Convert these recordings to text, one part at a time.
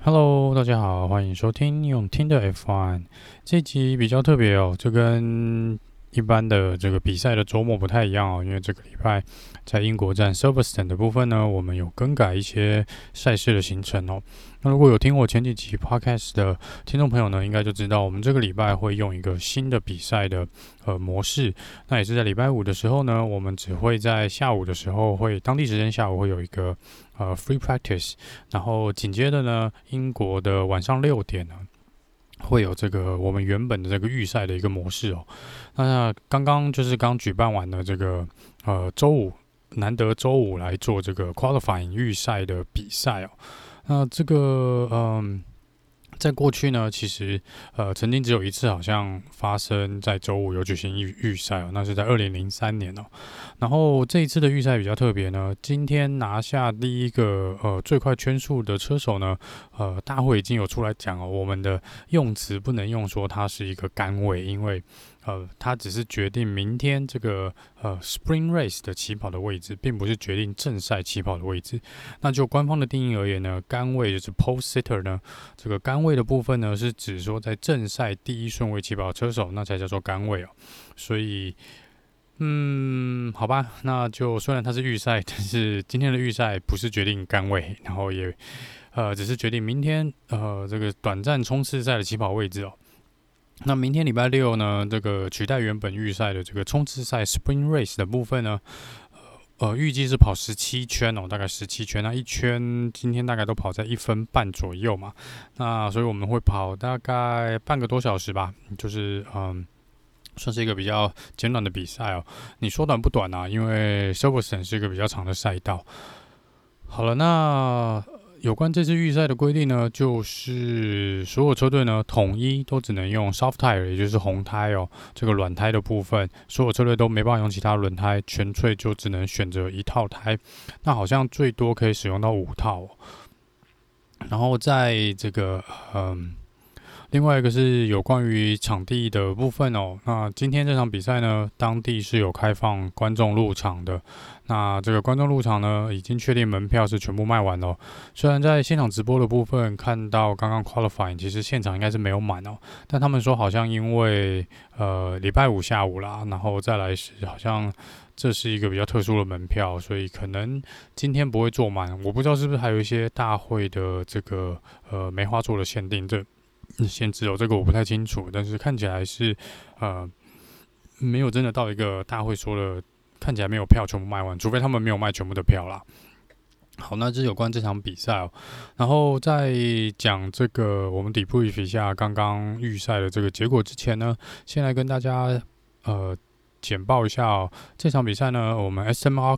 Hello，大家好，歡迎收聽用聽的 F1。這一集比較特別哦，這跟一般的這個比賽的週末不太一樣哦，因為這個禮拜在英國站 Silverstone 的部分呢，我們有更改一些賽事的行程哦。那如果有聽我前幾集 Podcast 的聽眾朋友呢，應該就知道我們這個禮拜會用一個新的比賽的模式。那也是在禮拜五的時候呢，我們只會在下午的時候當地時間下午會有一個free practice， 然後緊接着呢，英國的晚上6點呢，會有這個我們原本的這個預賽的一個模式哦。那剛舉辦完了這個週五，難得週五來做這個 qualifying 預賽的比賽哦。那這個在過去呢，其實曾經只有一次，好像發生在週五有舉行預賽哦，那是在2003年哦。然後這一次的預賽比較特別呢，今天拿下第一個最快圈數的車手呢，大會已經有出來講哦，我們的用詞不能用說它是一個桿位，因為它只是決定明天這個Sprint Race 的起跑的位置，並不是決定正賽起跑的位置。那就官方的定義而言呢，桿位就是 Pole Sitter 呢，這個桿位的部分呢，是指說在正賽第一順位起跑的車手，那才叫做桿位哦。所以，好吧，那就雖然它是預賽，但是今天的預賽不是決定桿位，然後也只是決定明天這個短暫衝刺賽的起跑位置哦。那明天禮拜六呢，這個取代原本預賽的這個衝刺賽 Sprint Race 的部分呢，預計是跑17圈哦，大概17圈。那一圈今天大概都跑在1分半左右嘛。那所以我們會跑大概半個多小時吧，就是算是一個比較簡短的比賽哦。你說短不短啊？因為 Silverstone 是一個比較長的賽道。好了，那有關這次預賽的規定呢，就是所有車隊呢統一都只能用 soft tire， 也就是紅胎哦，這個軟胎的部分，所有車隊都沒辦法用其他輪胎，全粹就只能選擇1套胎。那好像最多可以使用到5套哦。然後在這個另外一個是有關於場地的部分哦。那今天這場比賽呢，當地是有開放觀眾入場的。那這個觀眾入場呢，已經確定門票是全部賣完了。雖然在現場直播的部分看到剛剛 qualifying， 其實現場應該是沒有滿哦。但他們說好像因為禮拜五下午啦，然後再來是好像這是一個比較特殊的門票，所以可能今天不會坐滿。我不知道是不是還有一些大會的這個梅花座的限定限制哦，這個我不太清楚，但是看起來是沒有真的到一個大會說的，看起來沒有票全部賣完，除非他們沒有賣全部的票啦。好，那這是有關這場比賽哦。然後在講這個我們debrief一下剛剛預賽的這個結果之前呢，先來跟大家簡報一下哦。這場比賽呢，我們 Esteban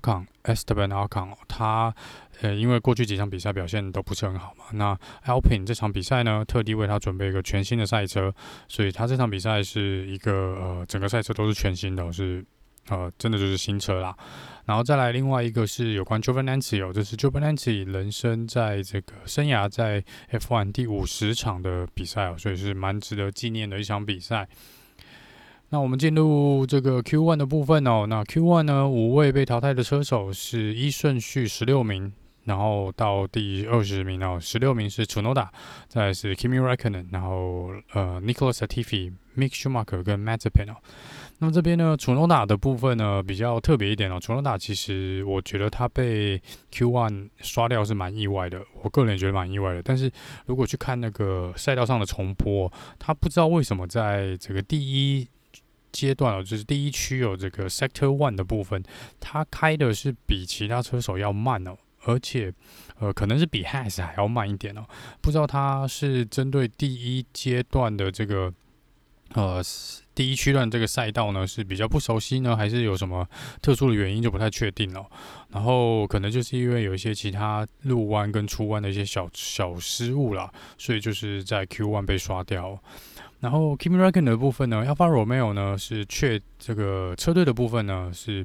Ocon 他因為過去幾場比賽表現都不是很好嘛，那 Alpine 這場比賽呢，特地為他準備一個全新的賽車，所以他這場比賽是一個整個賽車都是全新的，是真的就是新車啦。然後再來另外一個是有關 Giovinazzi 這是 Giovinazzi 人生在這個生涯在 F1 第50場的比賽哦，所以是蠻值得紀念的一場比賽。那我們進入這個 Q1 的部分哦。那 Q1 呢，5位被淘汰的車手是依順序16名，然後到第20名哦，16名是 Tsunoda， 再來是 Kimi Räikkönen， 然後Nicholas Latifi、Mick Schumacher 跟 Mazepin 哦。那麼這邊呢，Tsunoda 的部分呢比較特別一點哦。Tsunoda 其實我覺得他被 Q1 刷掉是蠻意外的，我個人也覺得蠻意外的。但是如果去看那個賽道上的重播，他不知道為什麼在這個第一階段哦，就是第一區有這個 Sector 1的部分，他開的是比其他車手要慢哦，而且可能是比 Haas 還要慢一點哦。不知道他是針對第一階段的這個第一區段這個賽道呢是比較不熟悉呢，還是有什麼特殊的原因就不太確定了。然後可能就是因為有一些其他入彎跟出彎的一些小失誤啦，所以就是在 Q1 被刷掉。然後 Kimi Räikkönen 的部分呢 ，Alfa Romeo 呢是這個車隊的部分呢是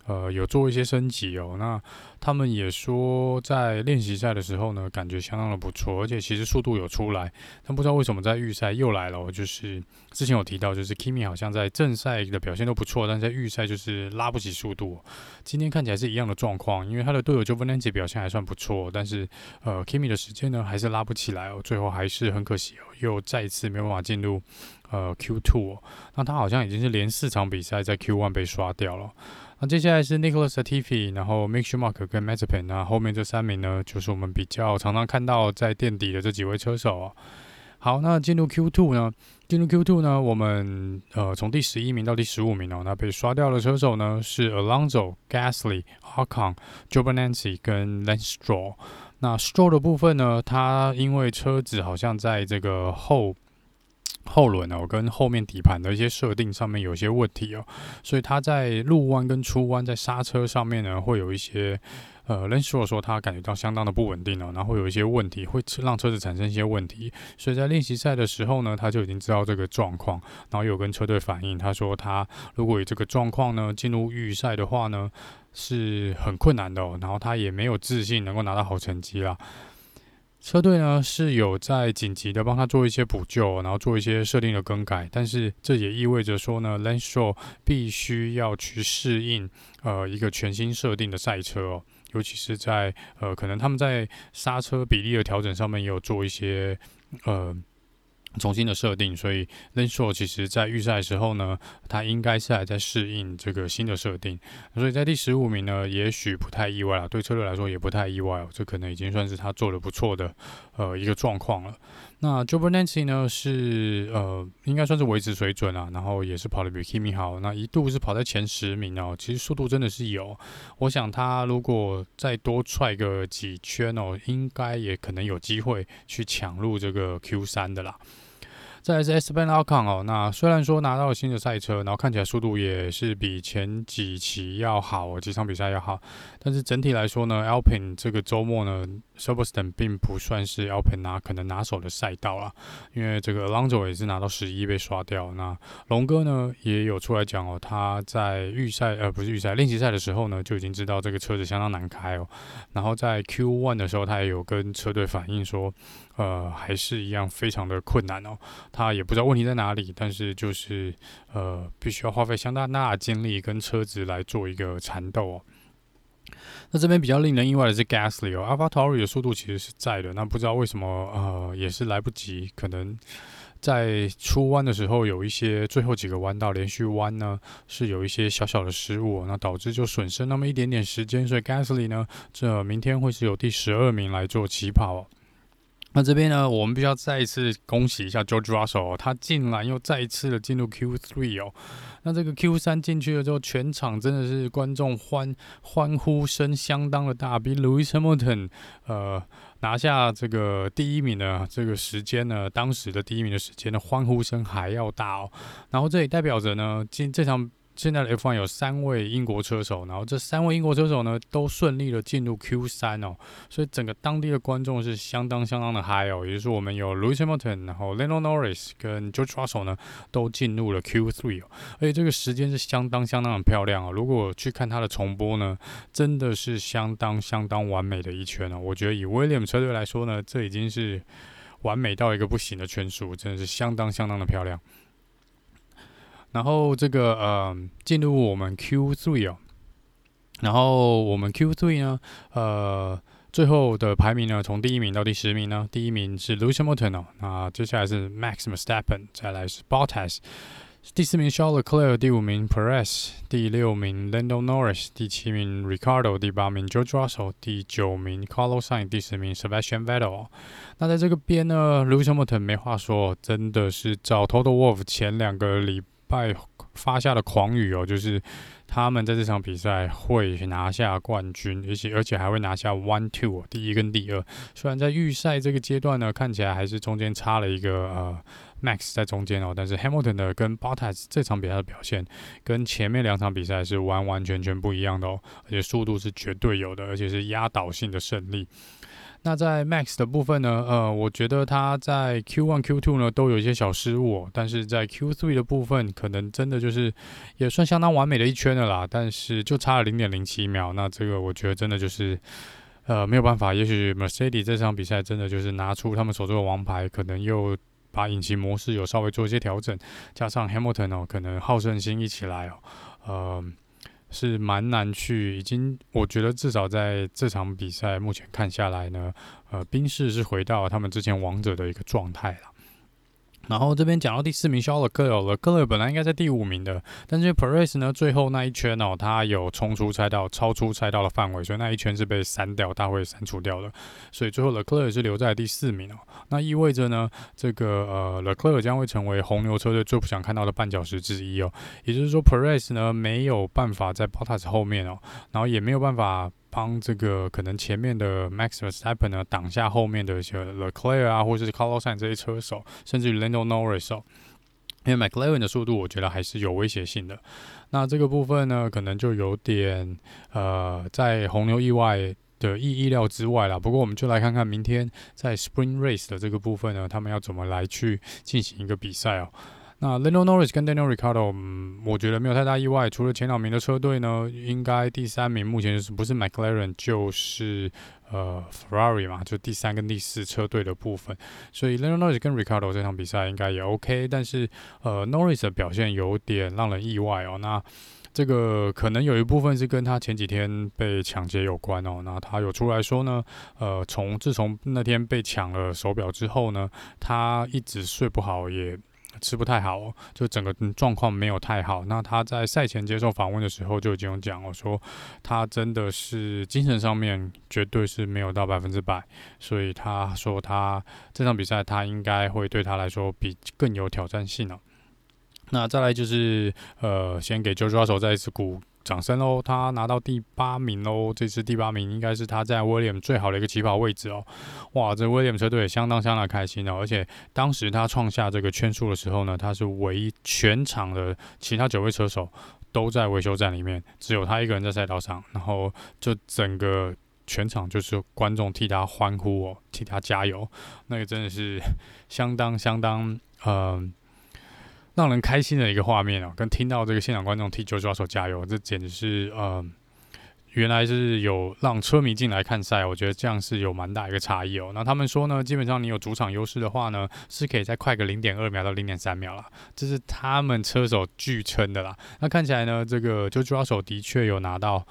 有做一些升級哦。那他們也說在練習賽的時候呢，感覺相當的不錯，而且其實速度有出來，但不知道為什麼在預賽又來了哦。就是之前有提到，就是 Kimi 好像在正賽的表現都不錯，但在預賽就是拉不起速度哦。今天看起來是一樣的狀況，因為他的隊友 Giovinazzi 表現還算不錯，但是Kimi 的時間呢還是拉不起來哦，最後還是很可惜哦，又再一次沒有辦法進入Q2 哦。那他好像已經是連4場比賽在 Q1 被刷掉了。那接下來是 Nicholas Latifi， 然後 Mick Schumacher 跟 Mazepin， 那後面這3名呢，就是我們比較常常看到在墊底的這幾位車手哦。好，那進入 Q2 呢，我們從第11名到第15名哦，那被刷掉的車手呢是 Alonso、Gasly、Ocon、Giovinazzi 跟 Lance Stroll。那 Stroll 的部分呢，他因為車子好像在這個後輪哦，跟後面底盤的一些設定上面有些問題哦，所以他在入彎跟出彎在剎車上面呢會有一些Lance Stroll 說他感覺到相當的不穩定哦，然後會有一些問題，會讓車子產生一些問題，所以在練習賽的時候呢，他就已經知道這個狀況，然後有跟車隊反映，他說他如果有這個狀況呢，進入預賽的話呢是很困難的哦，然後他也沒有自信能夠拿到好成績啦。車隊呢是有在緊急的幫他做一些補救，然後做一些設定的更改，但是這也意味着說呢 ，Lance Stroll 必須要去適應一個全新設定的賽車哦，尤其是在可能他們在剎車比例的調整上面也有做一些重新的設定，所以 Lance Stroll 其實在預賽的時候呢，他應該是還在適應這個新的設定，所以在第15名呢，也許不太意外啦，對車隊來說也不太意外哦，這可能已經算是他做得不錯的一個狀況了。那 Giovinazzi 呢是應該算是維持水準啊，然後也是跑得比 Kimi 好，那一度是跑在前10名哦，其實速度真的是有，我想他如果再多踹個幾圈哦，應該也可能有機會去搶入這個 Q3 的啦。再來是 Esteban Ocon 哦，那雖然說拿到了新的賽車，然後看起來速度也是比前幾期要好哦，幾場比賽要好，但是整體來說呢 ，Alpine 這個周末呢 ，Silverstone 並不算是 Alpine 可能拿手的賽道啦，因為這個 Alonso 也是拿到11被刷掉。那龍哥呢也有出來講哦，他在練習賽的時候呢就已經知道這個車子相當難開哦，然後在 Q1 的時候他也有跟車隊反映說，還是一樣非常的困難哦。他也不知道問題在哪裡，但是就是必須要花費相當大的精力跟車子來做一個纏鬥哦。那這邊比較令人意外的是 Gasly 哦 ，AlphaTauri 的速度其實是在的，那不知道為什麼也是來不及，可能在出彎的時候有一些最後幾個彎道連續彎呢是有一些小小的失誤哦，那導致就損失那麼一點點時間，所以 Gasly 呢這明天會是由第12名來做起跑哦。那這邊呢，我們必須要再一次恭喜一下 George Russell 哦，他竟然又再一次的進入 Q3 哦。那這個 Q3 進去了之後，全場真的是觀眾歡呼聲相當的大，比 Lewis Hamilton 拿下這個第1名的這個時間呢，當時的第1名的時間的歡呼聲還要大哦。然後這也代表着呢，這場現在的 F1 有3位英國車手，然後這3位英國車手呢都順利的進入 Q3 哦，所以整個當地的觀眾是相當的嗨哦，也就是我們有 Lewis Hamilton， 然後 Lando Norris 跟 George Russell 呢都進入了 Q3 哦，而且這個時間是相當的漂亮哦，如果去看它的重播呢，真的是相當完美的一圈哦，我覺得以 Williams 車隊來說呢，這已經是完美到一個不行的圈數，真的是相當的漂亮。然後這個進入我們 Q3 哦，然後我們 Q3 呢，最後的排名呢，從第1名到第10名呢，第1名是 Lewis Hamilton 哦，那接下來是 Max Verstappen， 再來是 Bottas， 第4名 Charles Leclerc， 第5名 Perez， 第6名 Lando Norris， 第7名 Ricardo， 第8名 George Russell， 第9名 Carlos Sainz， 第10名 Sebastian Vettel 哦。那在這個邊呢 Lewis Hamilton 沒話說，真的是照 Toto Wolff 前2個禮拜發下的狂語哦，就是他們在這場比賽會拿下冠軍，而且還會拿下 1-2 第1跟第2。雖然在預賽這個階段呢，看起來還是中間差了一個Max 在中間哦，但是 Hamilton 的跟 Bottas 這場比賽的表現跟前面2場比賽是完全不一樣的哦，而且速度是絕對有的，而且是壓倒性的勝利。 那在 Max 的部分呢，我覺得他在 Q1、Q2 呢都有一些小失誤，但是在 Q3 的部分，可能真的就是也算相當完美的一圈了啦，但是就差了0.07秒，那這個我覺得真的就是沒有辦法，也許 Mercedes 這場比賽真的就是拿出他們手中的王牌，可能又把引擎模式有稍微做一些調整，加上 Hamilton 可能好勝心一起來是蠻難去，已經我覺得至少在這場比賽目前看下來呢，賓士是回到他們之前王者的一個狀態了。然後這邊講到第4名肖勒克勒本來應該在第5名的，但是 Perez 呢最後那一圈他有衝出賽道，超出賽道的範圍，所以那一圈是被刪掉，大會刪除掉的，所以最後勒克勒也是留在第4名那意味着呢，這個勒克勒將會成為紅牛車隊最不想看到的絆腳石之一也就是說 Perez 呢沒有辦法在 Bottas 後面然後也沒有辦法幫這個可能前面的 Max Verstappen 呢擋下後面的一些 Leclerc 啊，或者是 Carlos Sainz 這些車手，甚至於 Lando Norris因為 McLaren 的速度我覺得還是有威脅性的。那這個部分呢，可能就有點在紅牛意外的意料之外啦。不過我們就來看看明天在 Sprint Race 的這個部分呢，他們要怎麼來去進行一個比賽那 Lando Norris 跟 Daniel Ricciardo，我覺得沒有太大意外。除了前2名的車隊呢，應該第3名目前就是不是 McLaren 就是Ferrari 嘛，就第3跟第4車隊的部分。所以 Lando Norris 跟 Ricciardo 這場比賽應該也 OK， 但是Norris 的表現有點讓人意外那這個可能有一部分是跟他前幾天被搶劫有關那他有出來說呢，自從那天被搶了手錶之後呢，他一直睡不好也吃不太好就整個狀況沒有太好。那他在賽前接受訪問的時候就已經有講說他真的是精神上面絕對是沒有到100%，所以他說他這場比賽他應該會對他來說比更有挑戰性那再來就是先給 George Russell 再一次鼓掌聲他拿到第8名這次第8名應該是他在 Williams 最好的一個起跑位置哇，這 Williams 車隊也相當開心而且當時他創下這個圈數的時候呢，他是唯一全場的其他9位車手都在維修站裡面，只有他一個人在賽道上，然後就整個全場就是觀眾替他歡呼替他加油，那個真的是相當讓人開心的一個畫面跟聽到這個現場觀眾替 George Russell 加油，這簡直是原來是有讓車迷進來看賽，我覺得這樣是有蠻大一個差異那他們說呢，基本上你有主場優勢的話呢，是可以再快個 0.2 秒到 0.3 秒啦，這是他們車手據稱的啦。那看起來呢，這個 George Russell 的確有拿到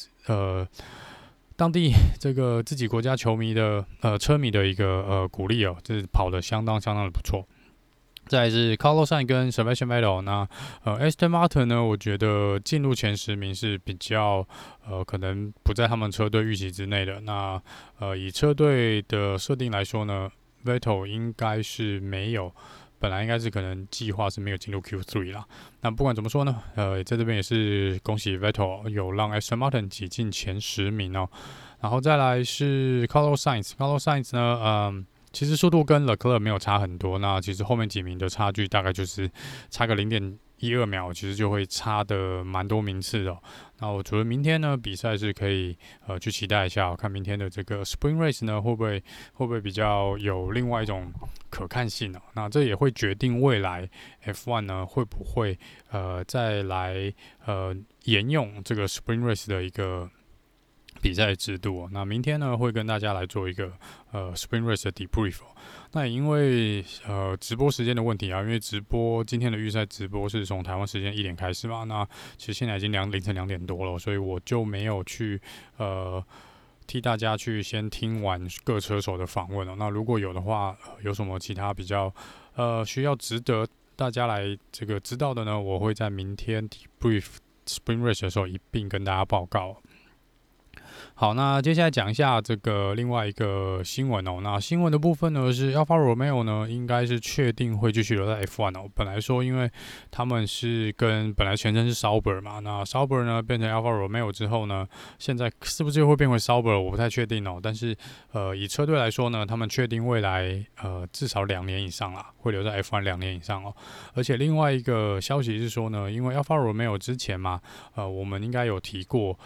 當地這個自己國家球迷的車迷的一個鼓勵這是跑得相當的不錯。再來是 Carlos Sainz 跟 Sebastian Vettel， 那Aston Martin 呢，我覺得進入前10名是比較可能不在他們車隊預期之內的。那以車隊的設定來說呢 ，Vettel 應該是沒有，本來應該是可能計劃是沒有進入 Q3 啦。那不管怎麼說呢，在這邊也是恭喜 Vettel 有讓 Aston Martin 擠進前10名然後再來是 Carlos Sainz 呢，其實速度跟 Leclerc 沒有差很多，那其實後面幾名的差距大概就是差個0.12秒，其實就會差的蠻多名次那我覺得明天呢比賽是可以去期待一下看明天的這個 Spring Race 呢會不會比較有另外一種可看性那這也會決定未來 F1 呢會不會再來沿用這個 Spring Race 的一個比賽制度那明天呢會跟大家來做一個Spring Race 的 debrief那也因為直播時間的問題因為今天的預賽直播是從台灣時間1點開始嘛，那其實現在已經凌晨2點多了，所以我就沒有去替大家去先聽完各車手的訪問那如果有的話有什麼其他比較需要值得大家來這個知道的呢，我會在明天 debrief Spring Race 的時候一併跟大家報告。好，那接下來講一下這個另外一個新聞那新聞的部分呢是 Alfa Romeo 呢應該是確定會繼續留在 F1 本來說因為他們是本來前身是 Sauber 嘛，那 Sauber 呢變成 Alfa Romeo 之後呢，現在是不是會變回 Sauber 我不太確定但是以車隊來說呢，他們確定未來至少2年以上啦，會留在 F1 2年以上而且另外一個消息是說呢，因為 Alfa Romeo 之前嘛我們應該有提過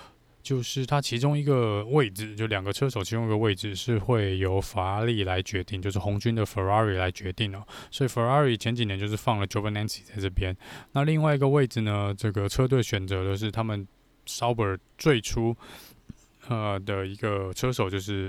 就是它其中一個位置，就兩個車手其中一個位置是會由法拉利來決定，就是紅軍的 Ferrari 來決定哦。所以 Ferrari 前幾年就是放了 Giovinazzi 在這邊。那另外一個位置呢，這個車隊選擇的是他們 Sauber 最初的一個車手就是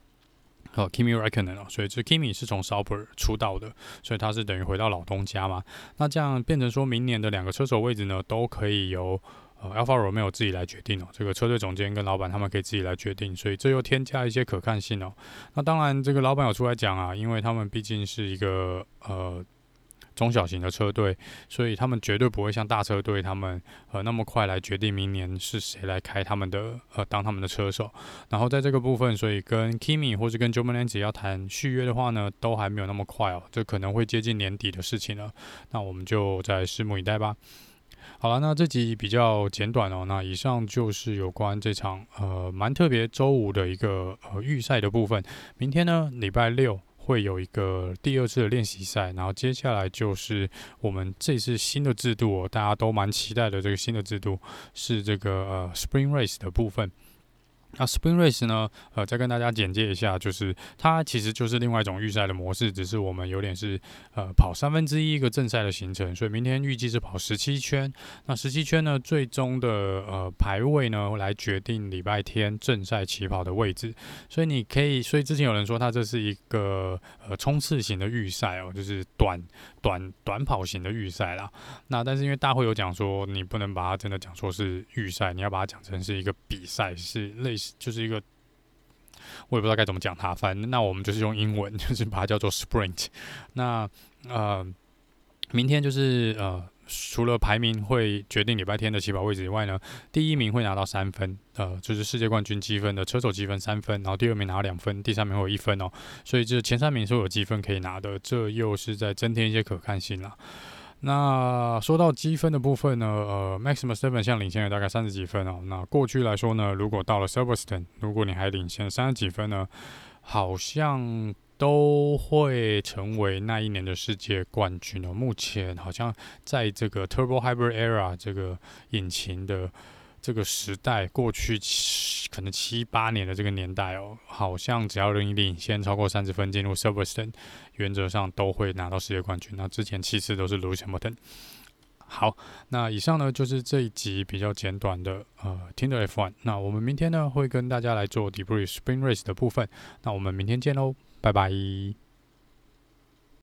Kimi Räikkönen 哦，所以這 Kimi 是從 Sauber 出道的，所以他是等於回到老東家嘛。那這樣變成說明年的兩個車手位置呢，都可以由Alfa Romeo 自己來決定哦，這個車隊總監跟老闆他們可以自己來決定，所以這又添加一些可看性哦。那當然，這個老闆有出來講啊，因為他們畢竟是一個中小型的車隊，所以他們絕對不會像大車隊他們那麼快來決定明年是誰來開他們的當他們的車手。然後在這個部分，所以跟 Kimi 或是跟 Giovinazzi 要談續約的話呢，都還沒有那麼快哦，這可能會接近年底的事情了。那我們就再拭目以待吧。好了，那這集比較簡短哦。那以上就是有關這場蠻特別週五的一個預賽的部分。明天呢，禮拜六會有一個第二次的練習賽，然後接下來就是我們這次新的制度哦，大家都蠻期待的這個新的制度是這個Sprint Race 的部分。那 Sprint Race 呢，再跟大家簡介一下，就是它其實就是另外一種預賽的模式，只是我們有點是跑1/3一個正賽的行程，所以明天預計是跑17圈。那17圈呢，最終的排位呢來決定禮拜天正賽起跑的位置。所以你可以，所以之前有人說它這是一個衝刺型的預賽哦，就是短跑型的預賽啦。那但是因為大會有講說，你不能把它真的講說是預賽，你要把它講成是一個比賽，是類似。就是一個，我也不知道該怎麼講它，反正那我們就是用英文，就是把它叫做 Sprint。那明天就是除了排名會決定禮拜天的起跑位置以外呢，第一名會拿到3分，就是世界冠軍積分的車手積分3分，然後第二名拿到2分，第三名會有1分哦，所以這前3名是有積分可以拿的，這又是在增添一些可看性啦。那說到積分的部分呢，Max Verstappen 現在領先了大概30幾分哦。那過去來說呢，如果到了 Silverstone， 如果你還領先30幾分呢，好像都會成為那一年的世界冠軍哦。目前好像在這個 Turbo Hybrid Era 這個引擎的這個時代，過去可能7、8年的這個年代哦，好像只要你領先超過30分進入 Silverstone， 原則上都會拿到世界冠軍。那之前7次都是 Lewis Hamilton。好，那以上呢就是這一集比較簡短的聽的 F1。那我們明天呢會跟大家來做 Debrief Sprint Race 的部分。那我們明天見嘍，拜拜。